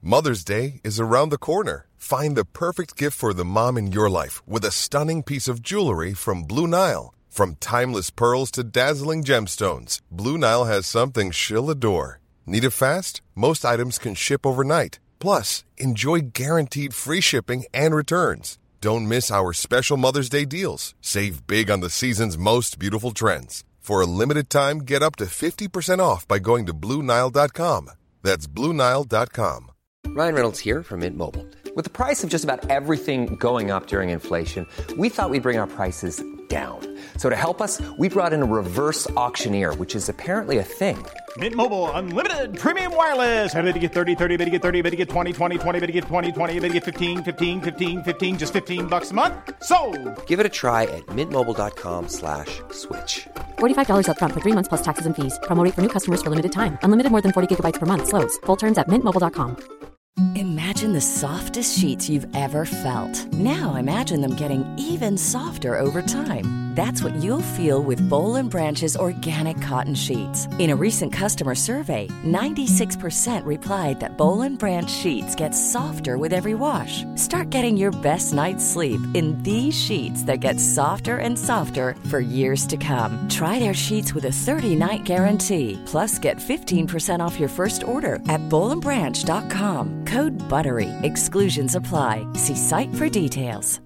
Mother's Day is around the corner. Find the perfect gift for the mom in your life with a stunning piece of jewelry from Blue Nile. From timeless pearls to dazzling gemstones, Blue Nile has something she'll adore. Need it fast? Most items can ship overnight. Plus, enjoy guaranteed free shipping and returns. Don't miss our special Mother's Day deals. Save big on the season's most beautiful trends. For a limited time, get up to 50% off by going to BlueNile.com. That's BlueNile.com. Ryan Reynolds here from Mint Mobile. With the price of just about everything going up during inflation, we thought we'd bring our prices down. So to help us, we brought in a reverse auctioneer, which is apparently a thing. Mint Mobile Unlimited Premium Wireless. How to get 30, 30, bit to get 30, bit to get 20, 20, 20, bit to get 20, 20, bit to get 15, 15, 15, 15, just $15 a month? Sold! Give it a try at mintmobile.com/switch. $45 up front for 3 months plus taxes and fees. Promo rate for new customers for limited time. Unlimited more than 40 gigabytes per month. Slows full terms at mintmobile.com. Imagine the softest sheets you've ever felt. Now imagine them getting even softer over time. That's what you'll feel with Boll & Branch's organic cotton sheets. In a recent customer survey, 96% replied that Boll & Branch sheets get softer with every wash. Start getting your best night's sleep in these sheets that get softer and softer for years to come. Try their sheets with a 30-night guarantee. Plus, get 15% off your first order at bollandbranch.com. Code BUTTERY. Exclusions apply. See site for details.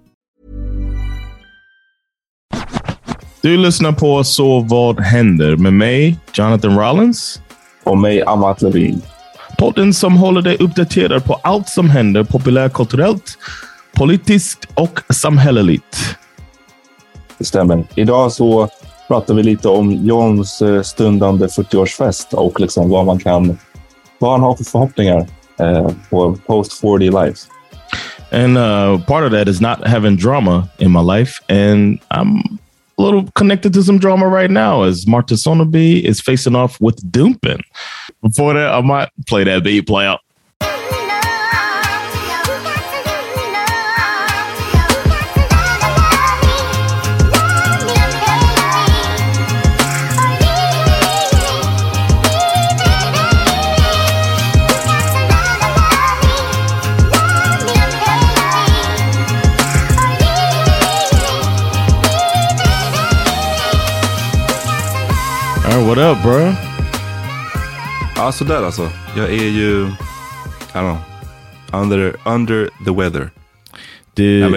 Du lyssnar på Så vad händer med mig, Jonathan Rollins. Och mig, Amat Levin. Podden som håller dig uppdaterad på allt som händer populärkulturellt, politiskt och samhälleligt. Det stämmer. Idag så pratar vi lite om Johns stundande 40-årsfest och liksom vad han har för förhoppningar på post-40 life. And part of that is not having drama in my life. And I'm a little connected to some drama right now as Marta Soneby is facing off with Doompen. Before that, I might play that beat play out. What up, bro? Ja, sådär alltså. Jag är ju, I don't know, under the weather. Did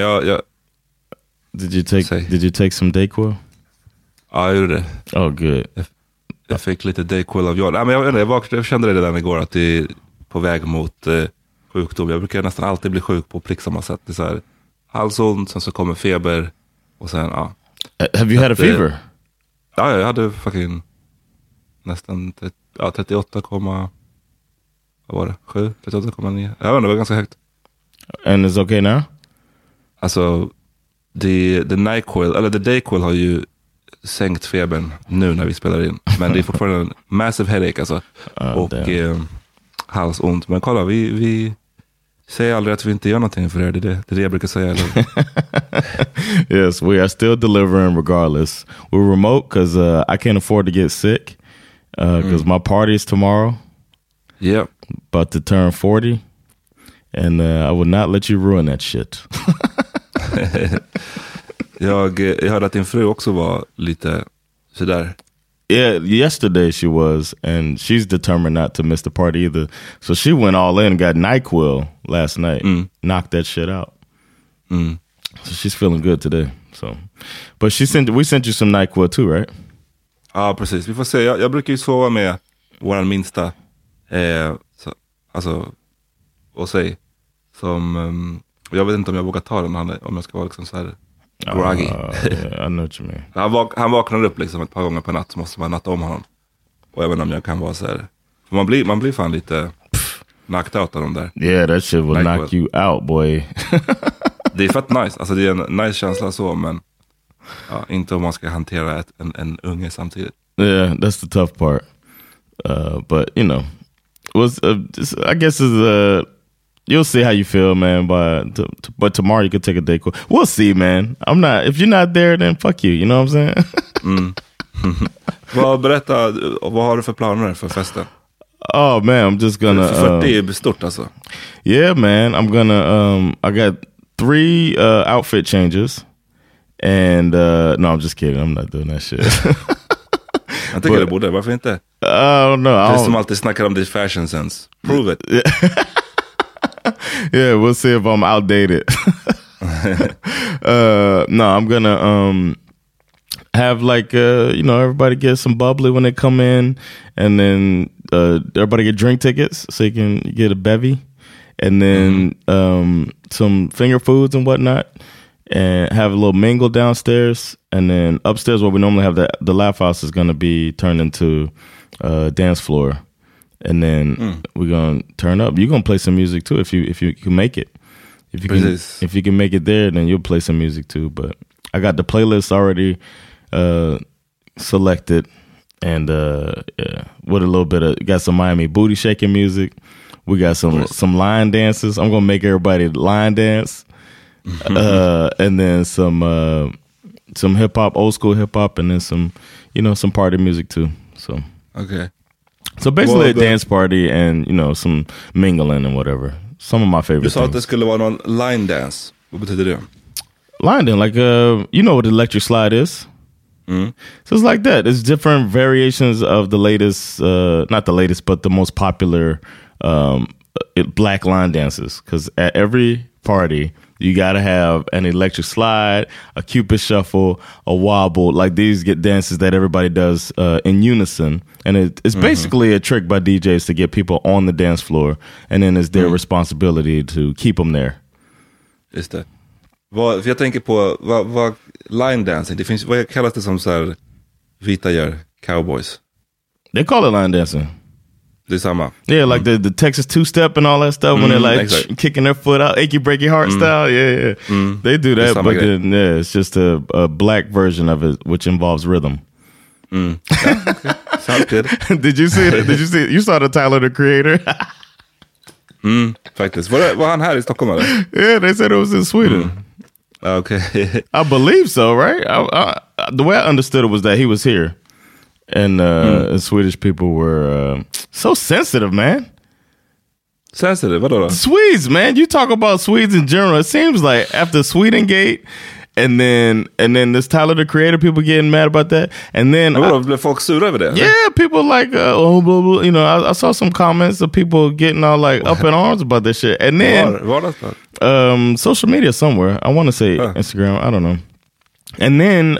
you take some Dayquil? Ja, jag gjorde det. Oh, good. Jag fick lite Dayquil av John. Jag kände det redan igår att det är på väg mot sjukdom. Jag brukar nästan alltid bli sjuk på prick samma sätt. Det är så här, halsont, sen så kommer feber och sen, ja. Have you had a fever? Ja, jag hade fucking nästan 38, vad var det? 7, 38,9. Jag vet inte, det var ganska högt. And it's okay now? Alltså, the NyQuil, eller the Dayquil har ju sänkt febern nu när vi spelar in. Men det är fortfarande en massive headache alltså. Och halsont. Men kolla, vi säger aldrig att vi inte gör någonting för det. Det är det jag brukar säga. Yes, we are still delivering regardless. We're remote because I can't afford to get sick. Because my party is tomorrow. Yep. About to turn 40. And I would not let you ruin that shit. Jag hörde att din fru också var lite sådär. Yeah, yesterday she was. And she's determined not to miss the party either. So she went all in and got NyQuil last night. Knocked that shit out. So she's feeling good today. So, but we sent you some NyQuil too, right? Ja, precis. Vi får se. Jag brukar ju sova med våran minsta. Och säg. Som, jag vet inte om jag vågar ta den. Om jag ska vara liksom så här groggy. I know what you mean. Han vaknar upp liksom ett par gånger per natt. Så måste man natta om honom. Och jag vet inte om jag kan vara så här. För man blir fan lite knocked out av dem där. Yeah, that shit will knock you out, boy. Det är fett nice. Alltså det är en nice känsla så, men ja, inte om man ska hantera en unge samtidigt. Yeah, that's the tough part. But you know, I guess you'll see how you feel, man. But tomorrow you could take a day. We'll see, man. If you're not there, then fuck you. You know what I'm saying? Berätta, vad har du för planer för festen? Oh man, I'm just gonna. 40 är stort alltså. Yeah, man, I'm gonna. I got 3 outfit changes, and no, I'm just kidding. I'm not doing that shit. Jag tycker det borde. Varför inte? I don't know. Det som alltid snackar om ditt fashion sense. Prove it. Yeah, we'll see if I'm outdated. No, I'm gonna have like everybody get some bubbly when they come in, and then everybody get drink tickets so you can get a bevy, and then some finger foods and whatnot, and have a little mingle downstairs, and then upstairs where we normally have the laugh house is gonna be turned into a dance floor, and then we're gonna turn up. You're gonna play some music too if you can make it. If you can make it there, then you'll play some music too. But I got the playlist already selected, and with a little bit of got some Miami booty shaking music. We got some line dances. I'm gonna make everybody line dance, and then some hip hop, old school hip hop, and then some party music too. So okay. So basically a dance party and some mingling and whatever. Some of my favorite. Du sa att det skulle vara någon line dance. Vad betyder det? Line dance, like you know what electric slide is. So it's like that. It's different variations of the latest, not the latest, but the most popular black line dances. Because at every party, you got to have an electric slide, a Cupid shuffle, a wobble. Like these get dances that everybody does in unison. And it's basically a trick by DJs to get people on the dance floor. And then it's their responsibility to keep them there. Just det. För jag tänker på vad line dancing, det finns, vad kallas det som så här vita gör, cowboys? They call it line dancing. Det är samma. Yeah, like the Texas two-step and all that stuff when they're like kicking their foot out, achy breaky heart style. Yeah. They do that, but then, it's just a black version of it, which involves rhythm. Yeah, okay. Sounds good. Did you see it? You saw the Tyler, the Creator? Faktiskt. Var han här i Stockholm eller? Yeah, they said it was in Sweden. Okay. I believe so, right? The way I understood it was that he was here. And Swedish people were so sensitive, man. Sensitive? Vadå då? Swedes, man. You talk about Swedes in general. It seems like after Swedengate, and then this Tyler, the Creator, people getting mad about that. And then blev folk sura över det? Yeah, people like, blah, blah. I saw some comments of people getting all like up in arms about this shit. And then social media somewhere. I want to say Instagram. I don't know. And then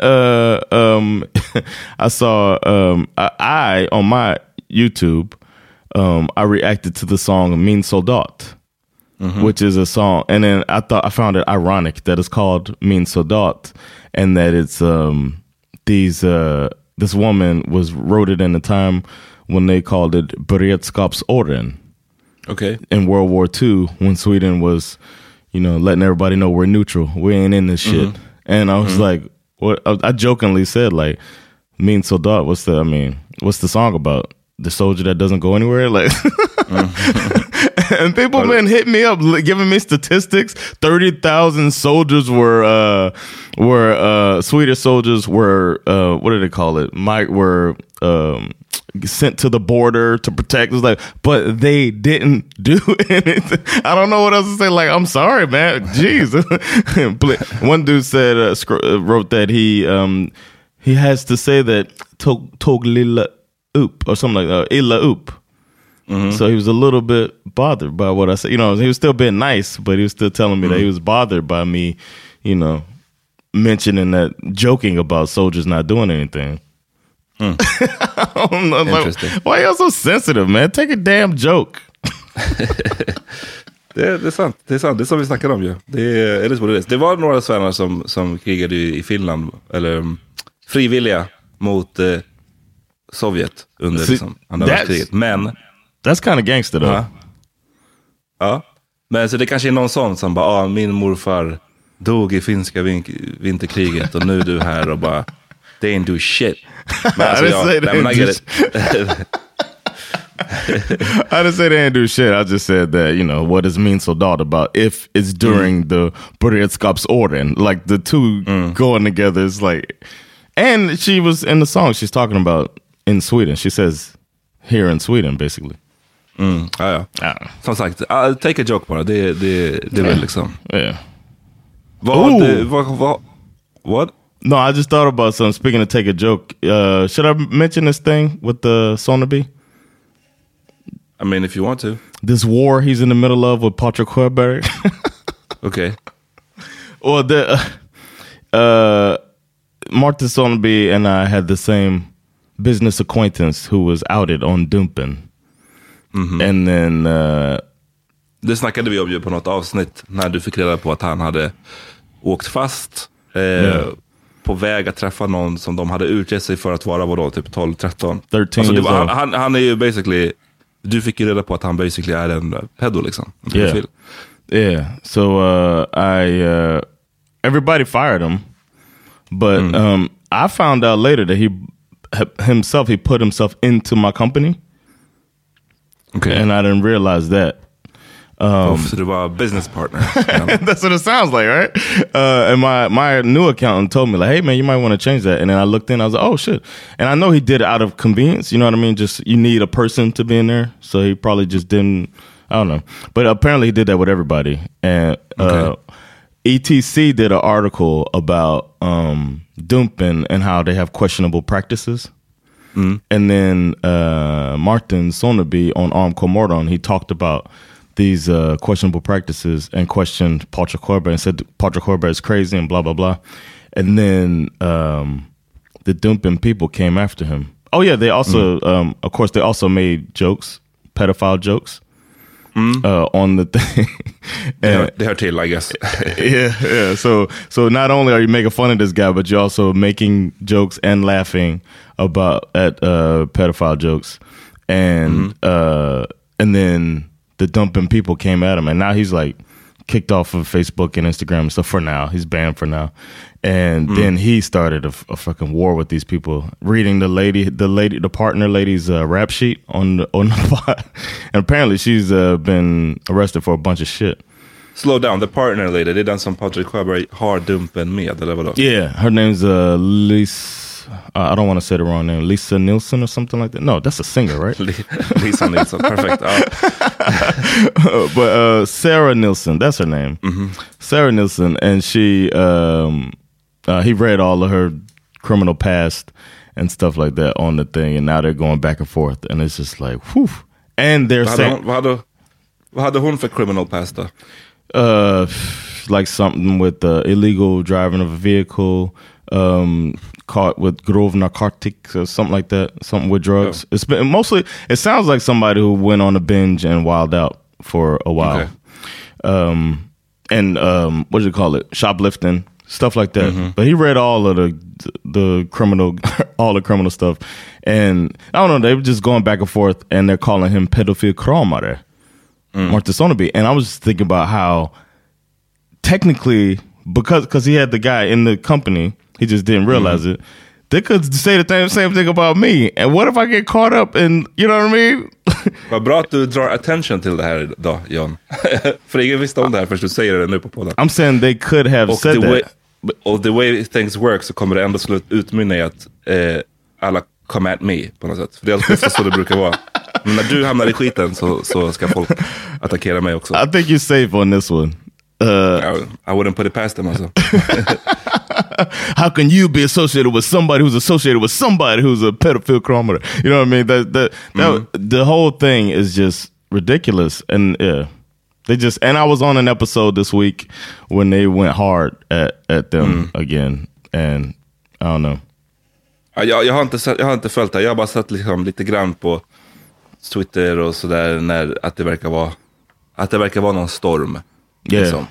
I saw I on my YouTube I reacted to the song Min Soldat, which is a song, and then I found it ironic that it's called Min Soldat, and that it's this woman wrote it in a time when they called it Beredskapsåren. Okay. In World War II, when Sweden was, letting everybody know we're neutral, we ain't in this shit. And I was like, what? I jokingly said, like, Min Soldat, what's the song about? The soldier that doesn't go anywhere? Like, and people been hitting me up, giving me statistics. 30,000 soldiers were Swedish soldiers were, what do they call it? Were sent to the border to protect. It was like, but they didn't do anything. I don't know what else to say. Like, I'm sorry, man. Jeez. One dude said, wrote that he has to say that tog lilla upp or something like that, illa upp. So he was a little bit bothered by what I said. He was still being nice, but he was still telling me that he was bothered by me, mentioning that, joking about soldiers not doing anything. I don't know, like, why are you so sensitive, man? Take a damn joke. Det är sant. Det är sant. Det är som vi snackade om ju. Det är vad det är. Det var några svennar som krigade i Finland, eller frivilliga mot Sovjet under andra världskriget. Men that's kind of gangster though. Ja. Men så det kanske är någon sån som bara, min morfar dog i finska vinterkriget och nu är du här och bara, they ain't do shit. Men alltså, I get it. I didn't say they didn't do shit. I just said that, what does Min Soldat about if it's during the Beredskapsåren? Like the two going together is like, and she was in the song she's talking about in Sweden. She says here in Sweden, basically. Ja. Som sagt, take a joke bara. Det är väl liksom. Yeah. What? No, I just thought about something. Speaking of take a joke, should I mention this thing with the Soneby? I mean, if you want to. This war he's in the middle of with Patrick Horberry. Okay. Well, Martin Soneby and I had the same business acquaintance who was outed on Dumpen. And then... det snackade vi om ju på något avsnitt när du fick reda på att han hade åkt fast på väg att träffa någon som de hade utgett sig för att vara vadå, typ 12-13. Alltså, han är ju basically... Du fick ju reda på att han basically är en pedo liksom. Yeah. So everybody fired him. But I found out later that he put himself into my company. Okay. And I didn't realize that. So they were a business partner. That's what it sounds like, right? And my new accountant told me, like, hey, man, you might want to change that. And then I looked in, I was like, oh, shit. And I know he did it out of convenience, you know what I mean? Just, you need a person to be in there. So he probably just didn't, I don't know. But apparently he did that with everybody. And ETC did an article about Dumpen and how they have questionable practices. And then Martin Soneby on Arm Comordon, he talked about these questionable practices and questioned Patrick Horberry and said Patrick Horberry is crazy and blah, blah, blah. And then the Dumpen people came after him. Oh, yeah, they also, of course, they also made jokes, pedophile jokes on the thing. They are tail, I guess. Yeah. So not only are you making fun of this guy, but you're also making jokes and laughing at pedophile jokes. And then the Dumpen people came at him, and now he's like kicked off of Facebook and Instagram and stuff for now. He's banned for now. And then he started a fucking war with these people, reading the partner lady's rap sheet on the pod. And apparently she's been arrested for a bunch of shit. Slow down, the partner lady, det är den som Patrick Horberry har Dumpen med, eller vadå? Yeah, her name's Lisa. I don't want to say the wrong name. Lisa Nielsen or something like that. No, that's a singer, right? Lisa Nielsen, perfect. But Sarah Nielsen, that's her name. Sarah Nielsen, and she, he read all of her criminal past and stuff like that on the thing, and now they're going back and forth, and it's just like, whew. And they're saying... Vad hade hon för criminal past då? Like something with illegal driving of a vehicle, caught with grove narcotics or something like that, something with drugs. It's been mostly, it sounds like somebody who went on a binge and wilded out for a while. Okay. And what do you call it? Shoplifting, stuff like that. But he read all of the criminal, all the criminal stuff. And I don't know, they were just going back and forth, and they're calling him pedophile kramare, Martin Soneby. And I was just thinking about how technically, because he had the guy in the company, he just didn't realize it. They could say the same thing about me. And what if I get caught up in, you know what I mean? Vad bra att du drar attention till det här då, John. För ingen visste om det här först du säger det nu på podden. I'm saying they could have said that. Och the way things work så kommer det ändå utmynna i att alla come at me på något sätt. För det är alltid så det brukar vara. Men när du hamnar i skiten så ska folk attackera mig också. I think you're safe on this one. I wouldn't put it past them also. How can you be associated with somebody who's associated with somebody who's a pedophile criminal? You know what I mean? The whole thing is just ridiculous. And and I was on an episode this week when they went hard at them again. And I don't know. Jag har inte följt det. Jag har bara sett liksom lite grann på Twitter och sådär när att det verkar vara någon storm. Liksom.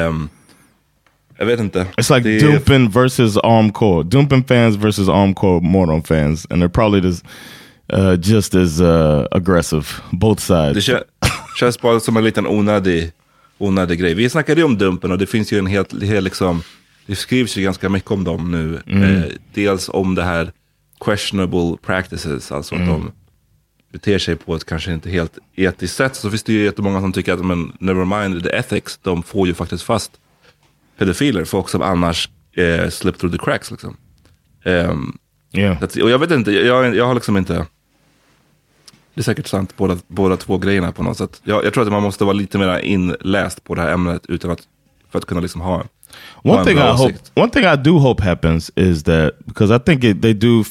Jag vet inte. It's like Dumpen versus Armcore. Dumpen fans versus Armcore Mordon fans. And they're probably just as aggressive. Both sides. Det känns bara som en liten onödig grej. Vi snackade ju om Dumpen och det finns ju en helt liksom, det skrivs ju ganska mycket om dem nu. Dels om det här questionable practices. Alltså att de beter sig på ett kanske inte helt etiskt sätt. Så finns det ju jättemånga som tycker att men never mind the ethics. De får ju faktiskt fast pedofiler, folk som annars slip through the cracks liksom. Yeah. Och jag vet inte, jag har liksom inte Det är säkert sant, båda två grejerna på något sätt. Jag tror att man måste vara lite mer inläst på det här ämnet för att kunna liksom ha one thing I do hope happens is that, because I think they do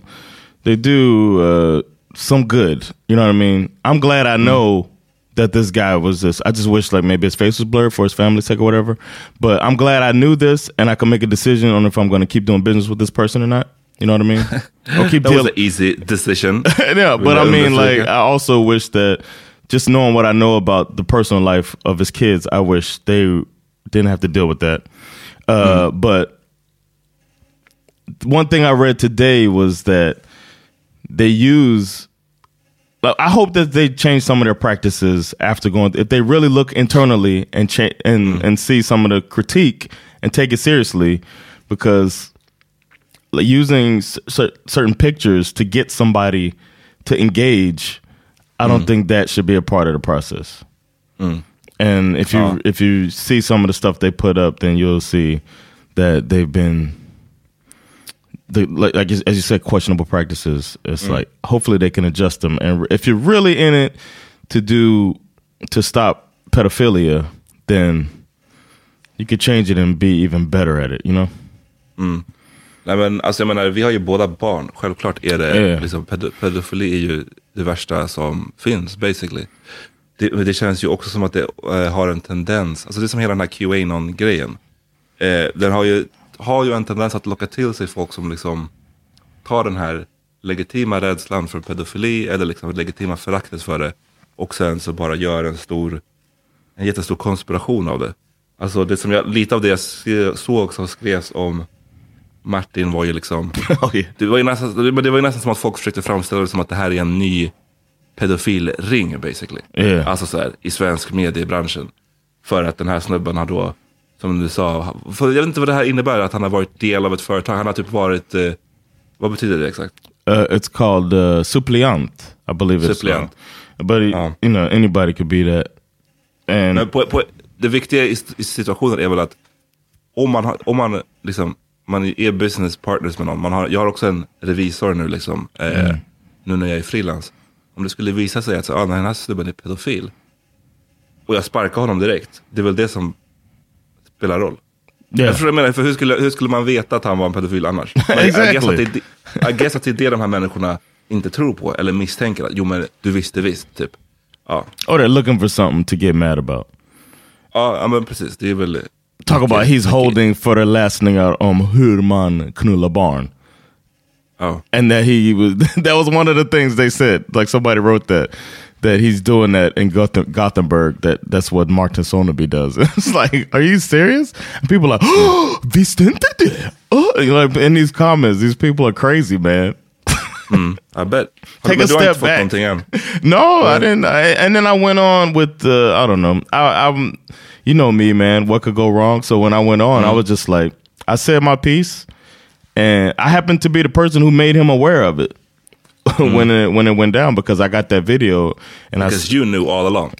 some good, you know what I mean? I'm glad I know that this guy was this. I just wish like maybe his face was blurred for his family's sake or whatever. But I'm glad I knew this and I can make a decision on if I'm going to keep doing business with this person or not. You know what I mean? Or keep that was an easy decision. Yeah, but I mean, like, I also wish that just knowing what I know about the personal life of his kids, I wish they didn't have to deal with that. But one thing I read today was that I hope that they change some of their practices after going. If they really look internally and see some of the critique and take it seriously, because using certain pictures to get somebody to engage, I don't think that should be a part of the process. And if you see some of the stuff they put up, then you'll see that they've been, like as you said, questionable practices. It's like, hopefully they can adjust them. And if you're really in it to stop pedophilia, then you could change it and be even better at it, you know? Nej, men alltså jag menar, vi har ju båda barn. Självklart är det liksom, pedofili är ju det värsta som finns, basically. Det känns ju också som att det har en tendens, alltså det är som hela den här QAnon-grejen. Den har ju en tendens att locka till sig folk som liksom tar den här legitima rädslan för pedofili eller liksom legitima föraktet för det och sen så bara gör en jättestor konspiration av det. Alltså det som lite av det jag såg som skrevs om Martin var ju liksom det var ju nästan som att folk försökte framställa det som att det här är en ny pedofilring basically. Alltså så här, i svensk mediebranschen. För att den här snubben har då, som du sa, för jag vet inte vad det här innebär, att han har varit del av ett företag. Han har typ varit, vad betyder det exakt? It's called suppleant, I believe suppleant. But you know, anybody could be that. And men det viktiga i situationen är väl att om man liksom, man är business partners med någon. Jag har också en revisor nu liksom, nu när jag är frilans. Om det skulle visa sig att den här snubben är pedofil och jag sparkar honom direkt, det är väl det som spelar roll. Jag tror jag menar, för hur skulle man veta att han var en pedofil annars? Exactly. I guess att det är det de här människorna inte tror på eller misstänker att, jo men du visste visst typ. Ja. Or they're looking for something to get mad about. Ja, men precis, det är väl talk about he's holding föreläsningar om hur man knullar barn. And that that was one of the things they said. Like somebody wrote that he's doing that in Gothenburg. That's what Martin Soneby does. It's like, are you serious? And people are like, oh, visste inte det? Like in these comments, these people are crazy, man. I bet. Take a step back. No, I didn't. And then I went on with I don't know. I'm you know me, man. What could go wrong? So when I went on, I was just like, I said my piece. And I happened to be the person who made him aware of it when it went down, because I got that video. And because you knew all along.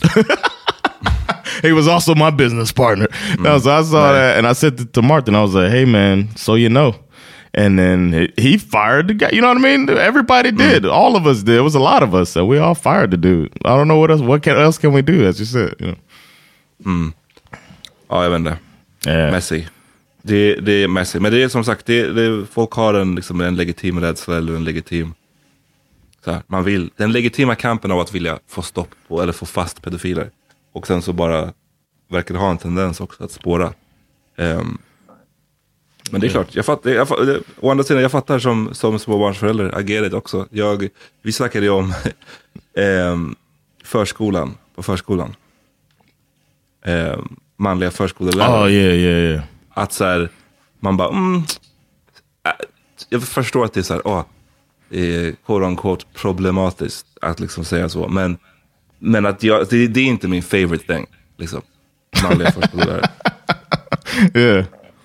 He was also my business partner. No, so I saw that and I said it to Martin. I was like, hey, man, so you know. And then he fired the guy. You know what I mean? Everybody did. All of us did. It was a lot of us. So we all fired the dude. I don't know what else. What else can we do, as you said? You know? Ja, jag vet inte. Messy. Det är messy. Men det är som sagt, folk har en legitim rädsla eller en legitim så här, man vill, den legitima kampen av att vilja få stopp på eller få fast pedofiler. Och sen så bara verkar det ha en tendens också att spåra. Men det är klart, å andra sidan, jag fattar som småbarnsförälder, agerar också. Vi snackade ju om förskolan, på förskolan. Manliga förskolelärare. Yeah. Att så här, man bara jag förstår att det är så här, quote unquote problematiskt att liksom säga så, men att det är inte min favorite thing liksom, manliga förskolelärare. Yeah.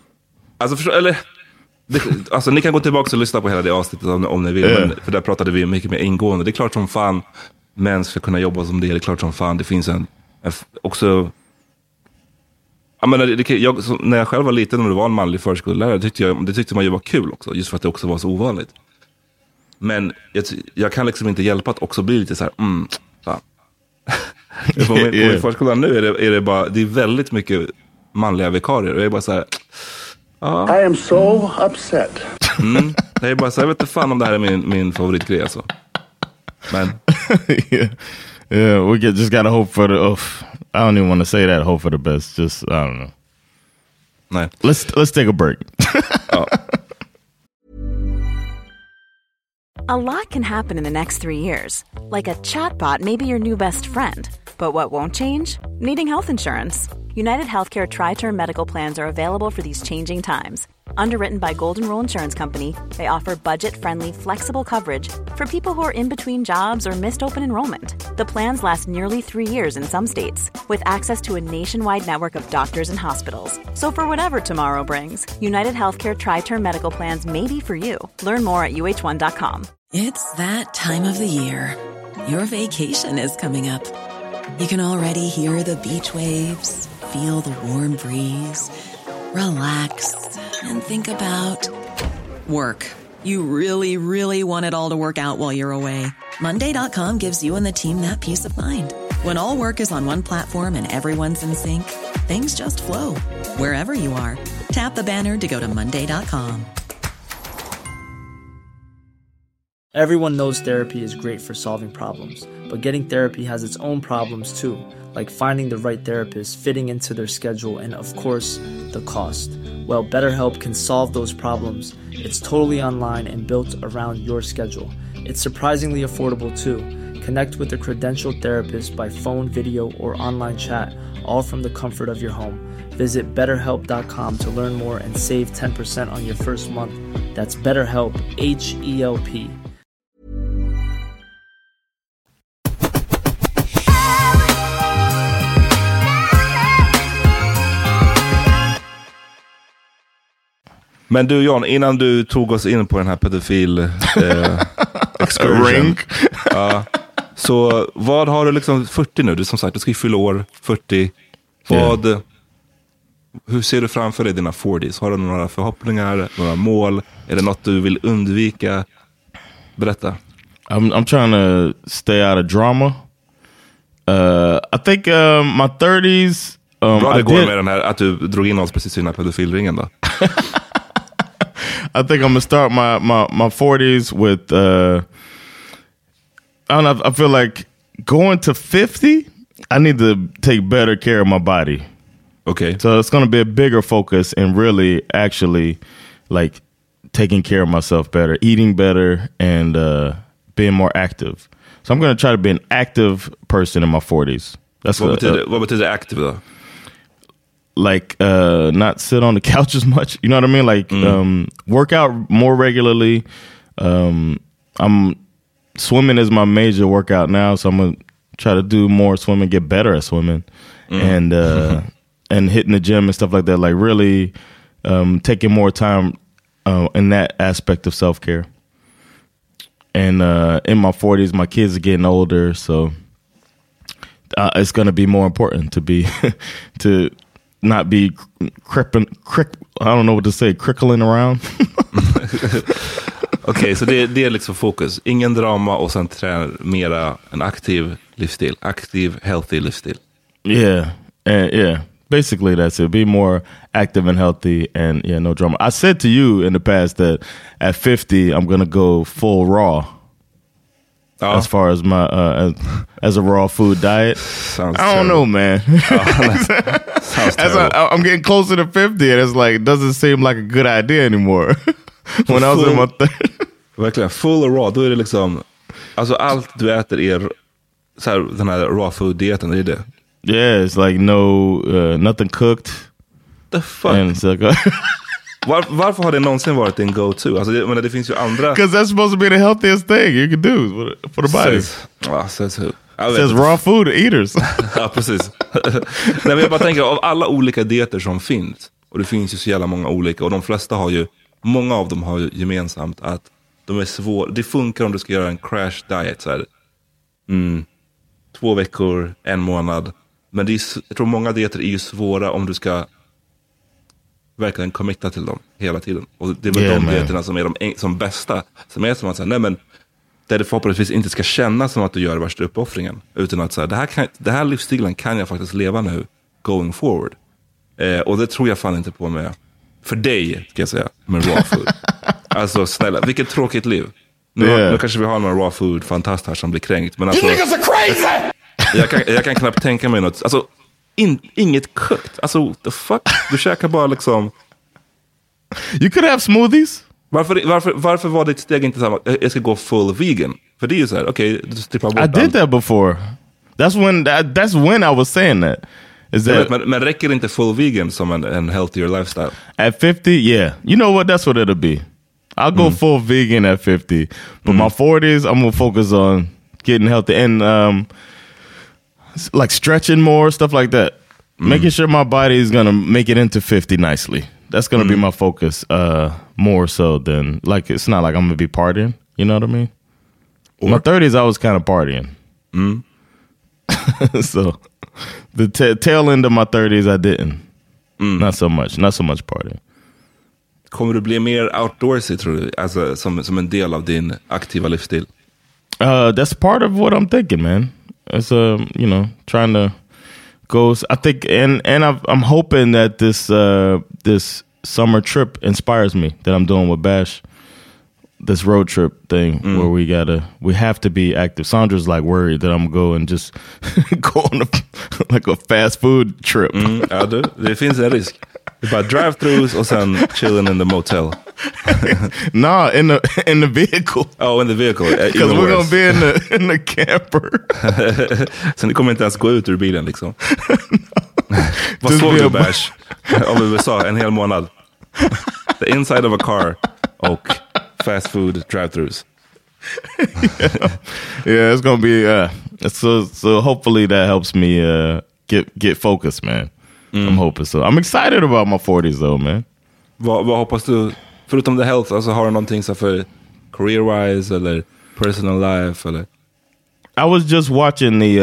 Alltså ni kan gå tillbaka och lyssna på hela det avsnittet om ni vill, men, för där pratade vi mycket mer ingående. Det är klart som fan män ska kunna jobba som det är klart som fan. Det finns också. Jag menar, när jag själv var liten och det var en manlig förskollärare, det tyckte man ju var kul också, just för att det också var så ovanligt. Men jag kan liksom inte hjälpa att också bli lite så här, fan. På min förskola nu är det bara, det är väldigt mycket manliga vikarier. Och jag är bara så här, I am so upset. Jag är bara så här, jag vet inte fan om det här är min favoritgrej alltså. Men yeah, we just gotta hope for the I don't even want to say that, hope for the best. Just I don't know. Nej. Let's take a break. A lot can happen in the next 3 years. Like a chatbot may be your new best friend. But what won't change? Needing health insurance. United Healthcare Tri-Term Medical Plans are available for these changing times. Underwritten by Golden Rule Insurance Company, they offer budget-friendly, flexible coverage for people who are in between jobs or missed open enrollment. The plans last nearly 3 years in some states, with access to a nationwide network of doctors and hospitals. So for whatever tomorrow brings, United Healthcare Tri-Term Medical Plans may be for you. Learn more at uh1.com. It's that time of the year. Your vacation is coming up. You can already hear the beach waves, feel the warm breeze, relax, and think about work. You really, really want it all to work out while you're away. Monday.com gives you and the team that peace of mind. When all work is on one platform and everyone's in sync, things just flow. Wherever you are, tap the banner to go to Monday.com. Everyone knows therapy is great for solving problems, but getting therapy has its own problems too, like finding the right therapist, fitting into their schedule, and of course, the cost. Well, BetterHelp can solve those problems. It's totally online and built around your schedule. It's surprisingly affordable too. Connect with a credentialed therapist by phone, video, or online chat, all from the comfort of your home. Visit BetterHelp.com to learn more and save 10% on your first month. That's BetterHelp, H-E-L-P. Men du John, innan du tog oss in på den här pedofil excursion. Så vad har du liksom 40 nu? Du som sagt, du ska ju fylla år 40. Hur ser du framför dig dina 40s? Har du några förhoppningar, några mål? Är det något du vill undvika? Berätta. I'm trying to stay out of drama. I think my 30s. Bra det går med den här att du drog in oss precis i den här pedofilringen då. I think I'm gonna start my 40s with I don't know, I feel like going to 50, I need to take better care of my body. Okay. So it's gonna be a bigger focus and really actually like taking care of myself better, eating better, and being more active. So I'm gonna try to be an active person in my 40s. That's vad betyder active då? Like not sit on the couch as much, you know what I mean? Like work out more regularly. I'm swimming is my major workout now, so I'm gonna try to do more swimming, get better at swimming, and hitting the gym and stuff like that. Like really taking more time in that aspect of self-care. And in my 40s, my kids are getting older, so it's gonna be more important to be to not be I don't know what to say, crickling around. Okej, så det är liksom fokus. Ingen drama och sen träna mera en aktiv livsstil. Aktiv, healthy livsstil. Yeah. Basically that's it. Be more active and healthy and no drama. I said to you in the past that at 50 I'm going to go full raw. As far as my as a raw food diet. Sounds I don't know, man. Sounds terrible. I'm getting closer to 50 and it's like it doesn't seem like a good idea anymore. When I was in my verkligen full raw, då är det liksom alltså allt du äter är så här, den här raw food dieten, är det? Yeah, it's like nothing cooked. The fuck? Varför har det någonsin varit en go-to? Alltså det finns ju andra. Because that's supposed to be the healthiest thing you can do for the body. Says raw food eaters. Ja, precis. Nej, men jag bara tänker, av alla olika dieter som finns, och det finns ju så jävla många olika, och de flesta har ju, många av dem har ju gemensamt att de är svåra. Det funkar om du ska göra en crash diet så här. 2 veckor, 1 månad. Men jag tror många dieter är ju svåra om du ska verkligen committa till dem hela tiden. Och det är väl de dieterna som är de som bästa. Som är som att säga, nej men där det förhoppningsvis inte ska kännas som att du gör värsta uppoffringen. Utan att säga, det här livsstilen kan jag faktiskt leva nu going forward. Och det tror jag fan inte på med, för dig ska jag säga, med raw food. Alltså snälla, vilket tråkigt liv. Nu kanske vi har någon raw food fantast här som blir kränkt. Men alltså, jag kan knappt tänka mig något. Alltså, inget kokt. Alltså, what the fuck? Du käkar bara liksom... You could have smoothies. Varför var ditt steg inte samma? Jag ska gå full vegan. För det är ju så här, okej, du strippar bort I did that before. That's when I was saying that. Men räcker inte full vegan som en healthier lifestyle? At 50, yeah. You know what? That's what it'll be. I'll go full vegan at 50. But my 40s, I'm going to focus on getting healthy and like stretching more, stuff like that. Making sure my body is going to make it into 50 nicely. That's going to be my focus more so than, like, it's not like I'm going to be partying. You know what I mean? In my 30s, I was kind of partying. So the tail end of my 30s, I didn't. Not so much partying. Kommer du bli mer outdoorsy, tror du? Alltså, som en del av din aktiva livsstil? That's part of what I'm thinking, man. It's you know, trying to go. I think, and I'm hoping that this summer trip inspires me. That I'm doing with Bash, this road trip thing where we have to be active. Sandra's like worried that I'm going just go on like a fast food trip. Ja, det finns en risk. Det är bara drive-thrus och sen chilling in the motel. No, in the vehicle. Oh, in the vehicle. Because we're gonna be in the camper. Sen det kommer inte ens gå ut ur bilen liksom. Vad såg du, Bash? Om USA en hel månad. The inside of a car och fast food drive-thrus. Yeah, it's gonna be so hopefully that helps me get focused, man. I'm hoping so. I'm excited about my 40s though, man. Vad hoppas du, förutom the health, alltså har du någonting så för career-wise eller personal life eller? I was just watching the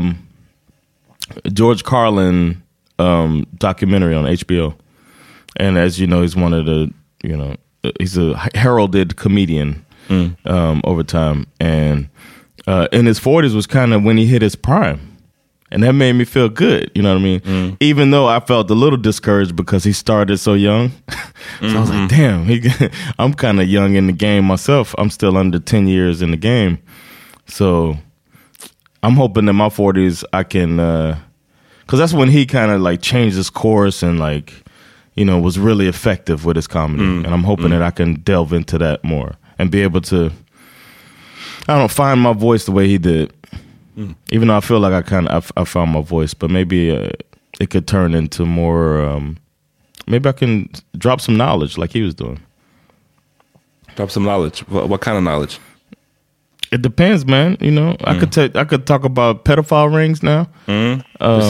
George Carlin documentary on HBO. And as you know, he's one of the, you know, he's a heralded comedian over time. And in his 40s was kind of when he hit his prime. And that made me feel good, you know what I mean? Even though I felt a little discouraged because he started so young. So I was like, damn, I'm kind of young in the game myself. I'm still under 10 years in the game. So I'm hoping in my 40s I can, because that's when he kind of like changed his course and like, you know, was really effective with his comedy. And I'm hoping that I can delve into that more and be able to, I don't know, find my voice the way he did. Even though I feel like I found my voice, but maybe it could turn into more, maybe I can drop some knowledge like he was doing. Drop some knowledge? What kind of knowledge? It depends, man. You know, I could talk about pedophile rings now. I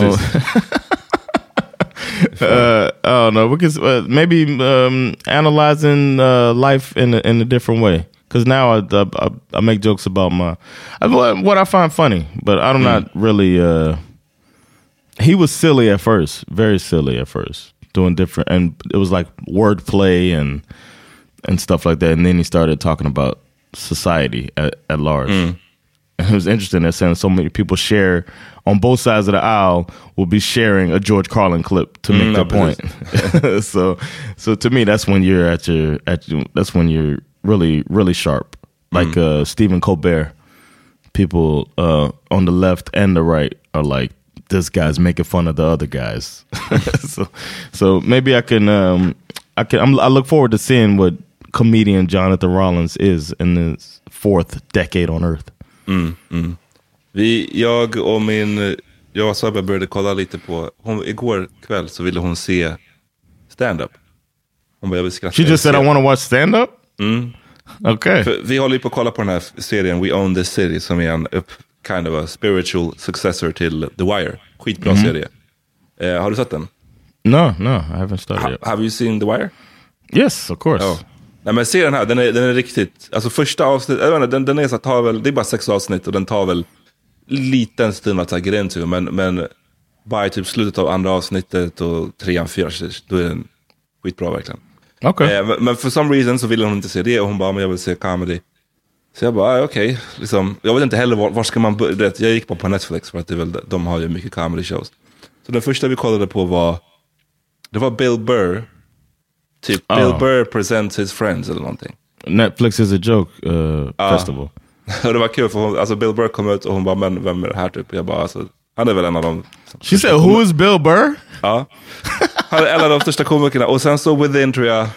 don't know. We could maybe analyzing life in a different way. Because now I make jokes about what I find funny, but I'm not really. He was silly at first, very silly at first, doing different, and it was like wordplay and stuff like that. And then he started talking about society at large. And it was interesting that saying so many people share on both sides of the aisle will be sharing a George Carlin clip to make their point. so to me, that's when you're that's when you're really, really sharp. Like Stephen Colbert. People on the left and the right are like, this guy's making fun of the other guys. so maybe I can I look forward to seeing what comedian Jonathan Rollins is in his 4th decade on earth. Jag och Sabba började kolla lite på, igår kväll så ville hon se stand-up. Hon bara, jag vill skratta. She just said I want to watch stand-up? Okay. För vi håller ju på att kolla på den här serien We Own This City som är en kind of a spiritual successor till The Wire. Skitbra serie. Har du sett den? No, I haven't started yet. Have you seen The Wire? Yes, of course. Oh. Nej, men serien här, den är riktigt, alltså första avsnitt, den är så tar väl, det är bara 6 avsnitt och den tar väl liten stund att ta gräns till, men bara i typ slutet av andra avsnittet och 3-4, då är den skitbra verkligen. Okay. Men för some reason så ville hon inte se det. Och hon bara, men jag vill se comedy. Så jag bara, okej. Liksom, jag vet inte heller var ska man börja. Jag gick bara på Netflix för att det är väl, de har ju mycket comedy shows. Så den första vi kollade på var Bill Burr. Typ Bill Burr presents his friends eller någonting. Netflix is a joke festival. Och det var kul för hon, alltså Bill Burr kom ut och hon bara, men vem är det här typ? Jag bara, alltså, han är väl en av dem. She said, who is Bill Burr? Ja. Han är en av de största komikerna. Och sen så within, tror jag,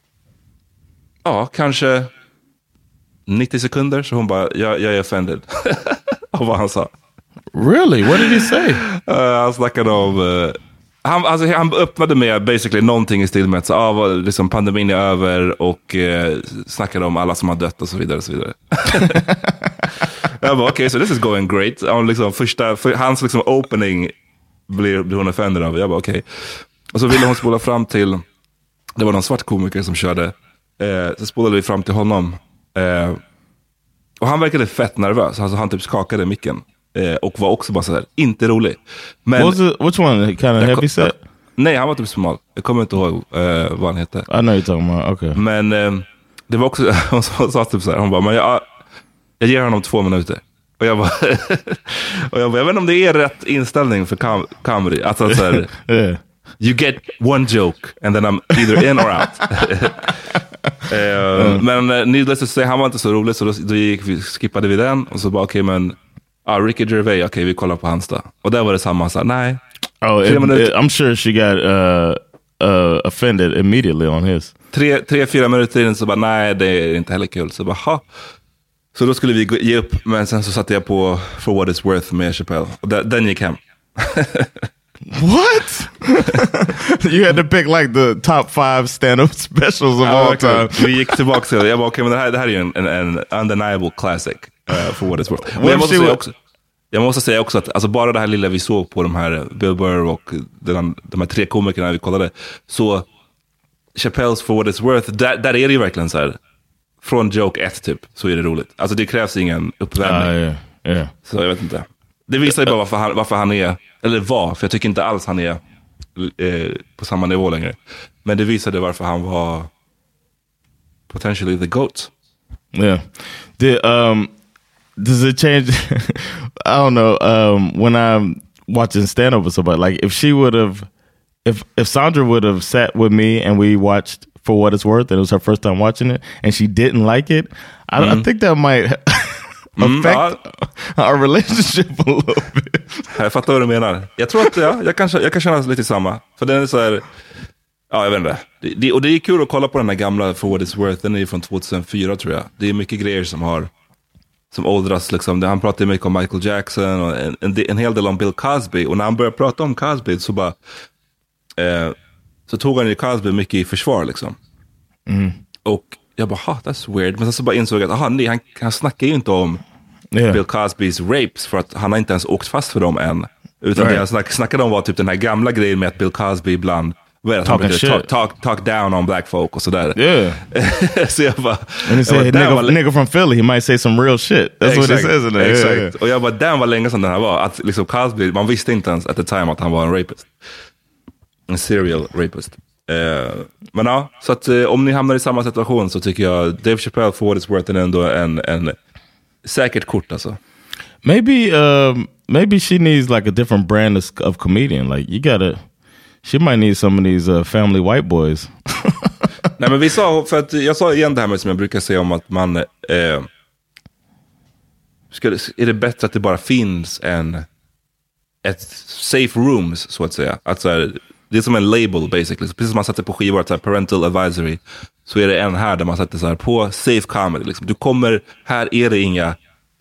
kanske 90 sekunder. Så hon bara, jag är offended av vad han sa. Really? What did he say? Han snackade om... Han öppnade med basically någonting i stil med att liksom pandemin är över och snackade om alla som har dött och så vidare och så vidare. Jag bara, okej, so this is going great. Liksom hans liksom opening blir hon offended av. Jag bara, okej. Och så ville hon spola fram till, det var någon svart komiker som körde. Så spolade vi fram till honom. Och han verkade fett nervös. Alltså han typ skakade micken. Och var också bara sådär, inte rolig. Men which one? Kind of heavy set? Nej, han var typ smal. Jag kommer inte ihåg vad han hette. I know you're talking about, okay. Men det var också, hon sa typ såhär, hon bara, men jag ger honom 2 minuter. Och jag bara, jag vet inte om det är rätt inställning för comedy. Alltså såhär, yeah. You get one joke and then I'm either in or out. Men needless to say, han var inte så rolig. Så då skippade vi den. Och så bara, okej, men Ricky Gervais, okej, vi kollar på hans då. Och där var det samma, så nej. I'm sure she got offended immediately on his. 3-4 minuter in så bara, nej, det är inte heller kul. Så bara, ha. Så då skulle vi ge upp. Men sen så satte jag på For What It's Worth med Chappelle. Och den gick hem. What? You had to pick like the top 5 stand-up specials of all time. Vi gick tillbaka till det. Jag bara, okej, men det här är ju en undeniable classic. For What It's Worth. Men jag måste säga också att alltså, bara det här lilla vi såg på de här Bill Burr och de här 3 komikerna vi kollade, så Chappelle's For What It's Worth, där är det ju verkligen så här, från joke 1 typ, så är det roligt. Alltså det krävs ingen uppvärmning. Yeah. Så jag vet inte. Det visar ju bara varför han är, eller för jag tycker inte alls han är på samma nivå längre. Men det visade varför han var potentially the GOAT. Yeah. Does it change? I don't know. When I'm watching stand-up with somebody, like if she would have, if Sandra would have sat with me and we watched For What It's Worth, and it was her first time watching it, and she didn't like it, I think that might affect our relationship a little bit. Jag fattar vad du menar. Jag tror att jag kan känna lite samma. För den är så här, jag vet inte. Och det är kul att kolla på den här gamla For What It's Worth. Den är ju från 2004 tror jag. Det är mycket grejer som åldras liksom. Han pratar mycket om Michael Jackson och en hel del om Bill Cosby. Och när han började prata om Cosby så bara så tog han ju Cosby mycket i försvar liksom. Och jag bara, that's weird. Men sen så bara insåg jag att han snackar ju inte om Bill Cosbys rapes, för att han har inte ens åkt fast för dem än. Utan det han snackade om var typ den här gamla grejen med att Bill Cosby ibland talk down on black folk och sådär. Yeah. Så jag bara, and he said, nigga from Philly, he might say some real shit. That's what he says in there. Exakt. Yeah. Och jag bara, den var länge sedan den här var. Att liksom Cosby, man visste inte ens at the time att han var en rapist. En serial rapist. Men ja, så att om ni hamnar i samma situation så tycker jag Dave Chappelle For What It's Worth är ändå en säkert kort alltså. Maybe she needs like a different brand of comedian. Like she might need some of these family white boys. Nej, men jag sa igen det här med som jag brukar säga om att man är det bättre att det bara finns ett safe rooms så att säga. Att så här, det är som en label basically. Så precis som man sätter på skivor, så här, parental advisory, så är det en här där man sätter så här på safe comedy liksom. Du kommer, här är det inga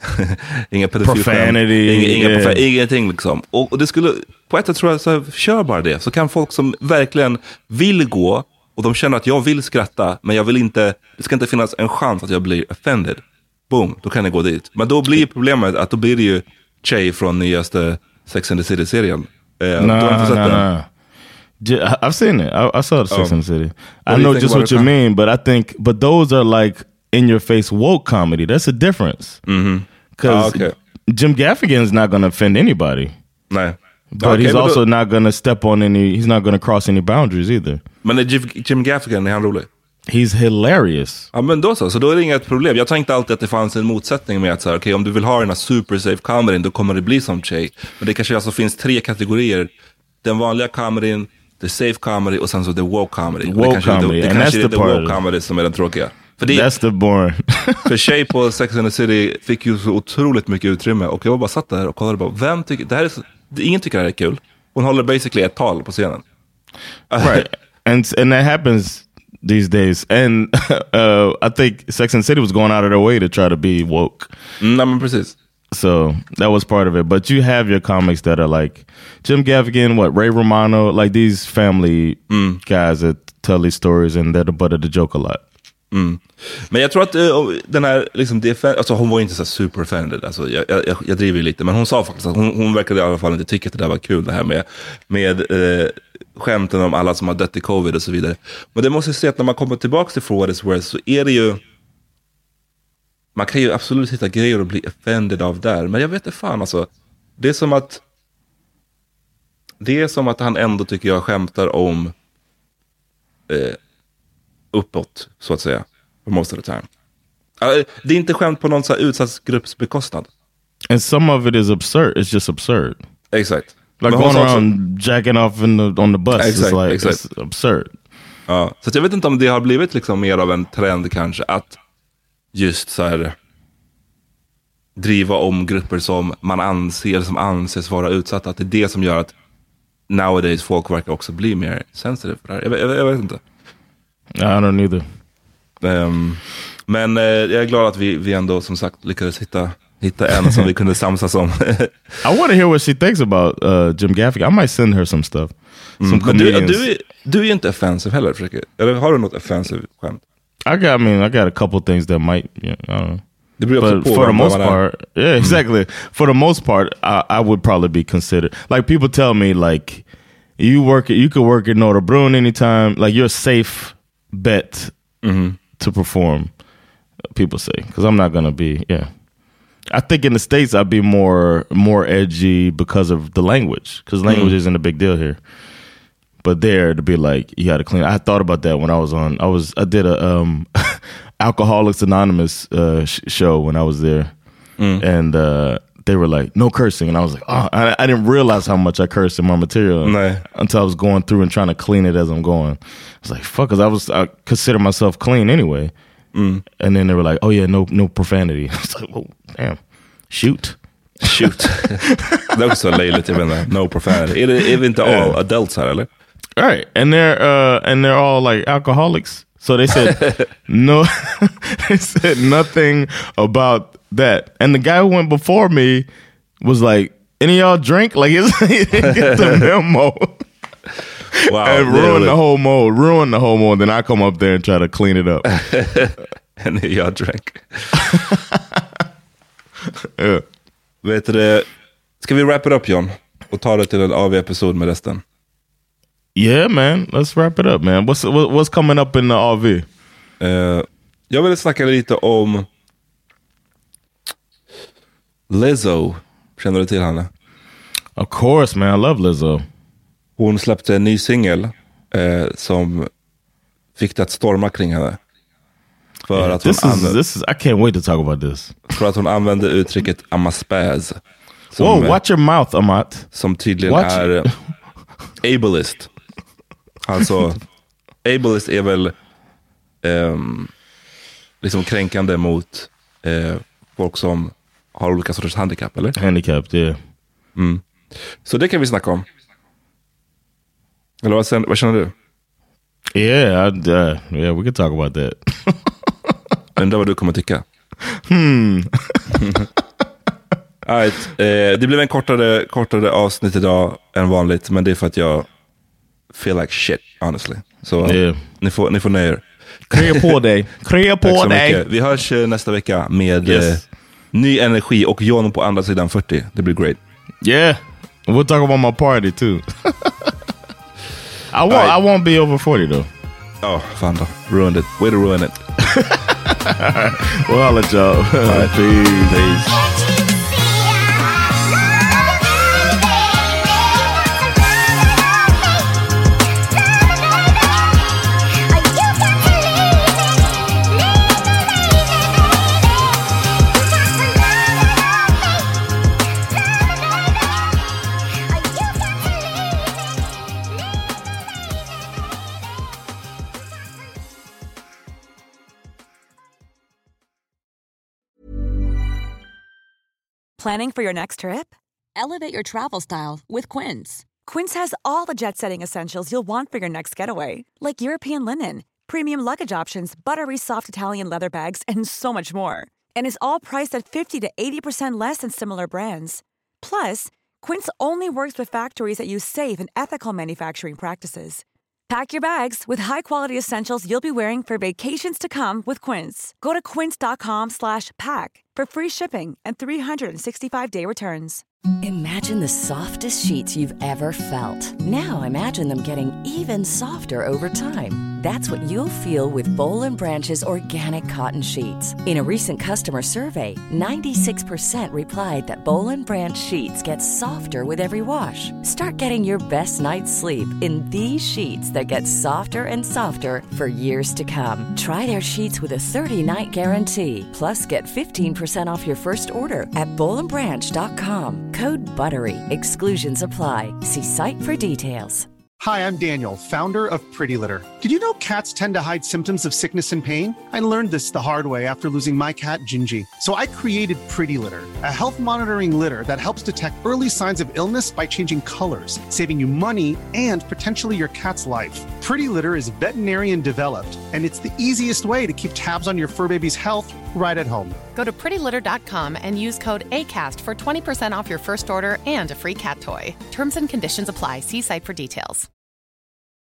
pedofilskämt, ingenting liksom. Och det skulle, på ett sätt tror jag, så här, kör bara det. Så kan folk som verkligen vill gå, och de känner att jag vill skratta, men jag vill inte, det ska inte finnas en chans att jag blir offended. Boom, då kan jag gå dit. Men då blir problemet att då blir det ju Che från nyaste Sex and the City-serien. No. I've seen it. I saw the Sex and the City. I know just what you mean, but those are like in your face woke comedy. That's a difference. Because Jim Gaffigan's not going to offend anybody. No. But he's also not going to step on he's not going to cross any boundaries either. Men är Jim Gaffigan, är han rolig? He's hilarious. Ja, men så då är det inget problem. Jag tänkte alltid att det fanns en motsättning med att så här, okej, om du vill ha den här super safe kameran, då kommer det bli som Che. Men det kanske alltså finns 3 kategorier. Den vanliga kameran, the safe comedy och sen så the woke comedy. Det kanske är the woke comedy som är den tråkiga. För that's the boring. För Che på Sex and the City fick ju så otroligt mycket utrymme. Och jag bara satt där och kollade på, vem tycker det här är så, ingen tycker det här är kul. Hon håller basically ett tal på scenen. Right. And that happens these days. And I think Sex and the City was going out of their way to try to be woke. Nej, men precis. So that was part of it. But you have your comics that are like Jim Gaffigan, Ray Romano, like these family guys that tell these stories and they're the butt of the joke a lot. Men jag tror att den här liksom, alltså hon var inte så super offended, alltså jag driver ju lite, men hon sa faktiskt att hon verkade i alla fall inte tycka att det där var kul, det här med skämten om alla som har dött i covid och så vidare. Men det måste jag säga att när man kommer tillbaka till For What It's Worth så är det ju, man kan ju absolut hitta grejer och bli offended av där, men jag vet inte fan alltså, det är som att han ändå tycker jag skämtar om uppåt, så att säga, for most of the time. Det är inte skämt på någon så här utsatt grupps bekostnad. And some of it is absurd. It's just absurd. Exakt. Like going around jacking off on the bus. Exakt, it's like it's absurd. Ja, så jag vet inte om det har blivit liksom mer av en trend kanske att just så här driva om grupper som man anses vara utsatta. Att det är det som gör att nowadays folk verkar också bli mer sensitive för det här. Jag vet inte. I don't either. Men jag är glad att vi ändå som sagt lyckades hitta en som vi kunde samsas om. I want to hear what she thinks about Jim Gaffigan. I might send her some stuff. Some comedians. Du är ju inte offensive heller, försöker. Eller har du något offensive skämt? I got a couple things that might, I don't know. Det blir också but for the most part, yeah, exactly. For the most part, I would probably be considered. Like people tell me, like you could work at Norra Brunn anytime. Like you're a safe bet to perform. People say, because I'm not gonna be. Yeah, I think in the States I'd be more edgy because of the language. Because language isn't a big deal here. But there to be like you had to clean. I thought about that when I did a Alcoholics Anonymous show when I was there, and they were like no cursing, and I was like, oh, I didn't realize how much I cursed in my material until I was going through and trying to clean it as I'm going. I was like, fuck, because I consider myself clean anyway, and then they were like, oh yeah, no profanity. I was like, oh damn, shoot. Det är också löjligt, jag vet inte. No profanity. Är det inte all adults här eller? Right, and they're all like alcoholics. So they said no. They said nothing about that. And the guy who went before me was like, "Any of y'all drink?" Like he didn't get the memo. Wow, and ruined the whole mode. Then I come up there and try to clean it up. Any of y'all drink? Yeah. Vet du, ska vi wrap it up, John? Och ta det till en AV-episod med resten? Yeah, man. Let's wrap it up, man. What's coming up in the AV? Jag vill snacka lite om Lizzo. Känner du till henne? Of course, man. I love Lizzo. Hon släppte en ny singel som fick det att storma kring henne. För att I can't wait to talk about this. För att hon använde uttrycket amaspaz. Whoa, watch your mouth, Amat. Som tydligen är ableist. Alltså, ableist är väl liksom kränkande mot folk som har olika sorters handikapp, eller? Handikapped, yeah. Så det kan vi snacka om. Eller vad känner du? Yeah, yeah, we can talk about that. Undrar vad du kommer tycka. Right, det blev en kortare avsnitt idag än vanligt, men det är för att jag feel like shit, honestly. Så ni får nöja er. Krya på dig. Vi hörs nästa vecka med ny energi och John på andra sidan 40. Det blir great. Yeah, we'll talk about my party too. I won't be over 40 though. Oh, fan då. Ruined it. Way to ruin it. Well, I'll let y'all. Peace. Planning for your next trip? Elevate your travel style with Quince. Quince has all the jet-setting essentials you'll want for your next getaway, like European linen, premium luggage options, buttery soft Italian leather bags, and so much more. And is all priced at 50 to 80% less than similar brands. Plus, Quince only works with factories that use safe and ethical manufacturing practices. Pack your bags with high-quality essentials you'll be wearing for vacations to come with Quince. Go to quince.com/pack for free shipping and 365-day returns. Imagine the softest sheets you've ever felt. Now imagine them getting even softer over time. That's what you'll feel with Boll & Branch's organic cotton sheets. In a recent customer survey, 96% replied that Boll & Branch sheets get softer with every wash. Start getting your best night's sleep in these sheets that get softer and softer for years to come. Try their sheets with a 30-night guarantee. Plus, get 15% off your first order at bollandbranch.com. Code BUTTERY. Exclusions apply. See site for details. Hi, I'm Daniel, founder of Pretty Litter. Did you know cats tend to hide symptoms of sickness and pain? I learned this the hard way after losing my cat, Gingy. So I created Pretty Litter, a health monitoring litter that helps detect early signs of illness by changing colors, saving you money and potentially your cat's life. Pretty Litter is veterinarian developed, and it's the easiest way to keep tabs on your fur baby's health right at home. Go to prettylitter.com and use code ACAST for 20% off your first order and a free cat toy. Terms and conditions apply. See site for details.